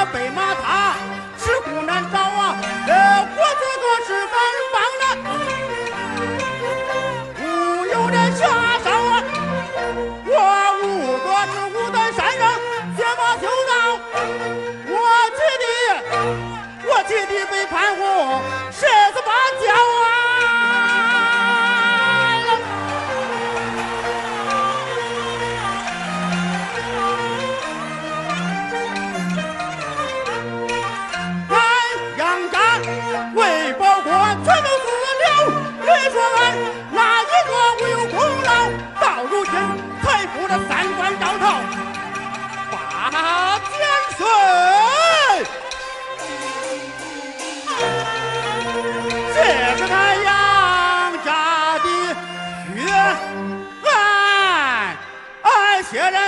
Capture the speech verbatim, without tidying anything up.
我北马踏，吃苦难找啊！呃，我这个是反方的，无有的下手啊！我五个是五在山上学马修道，我姐弟，我姐弟被判户十十八跤啊！为保国全都死了，你说俺哪一个无有功劳？到如今才负了三官招讨，八千岁，这是他杨家的血案，俺谢人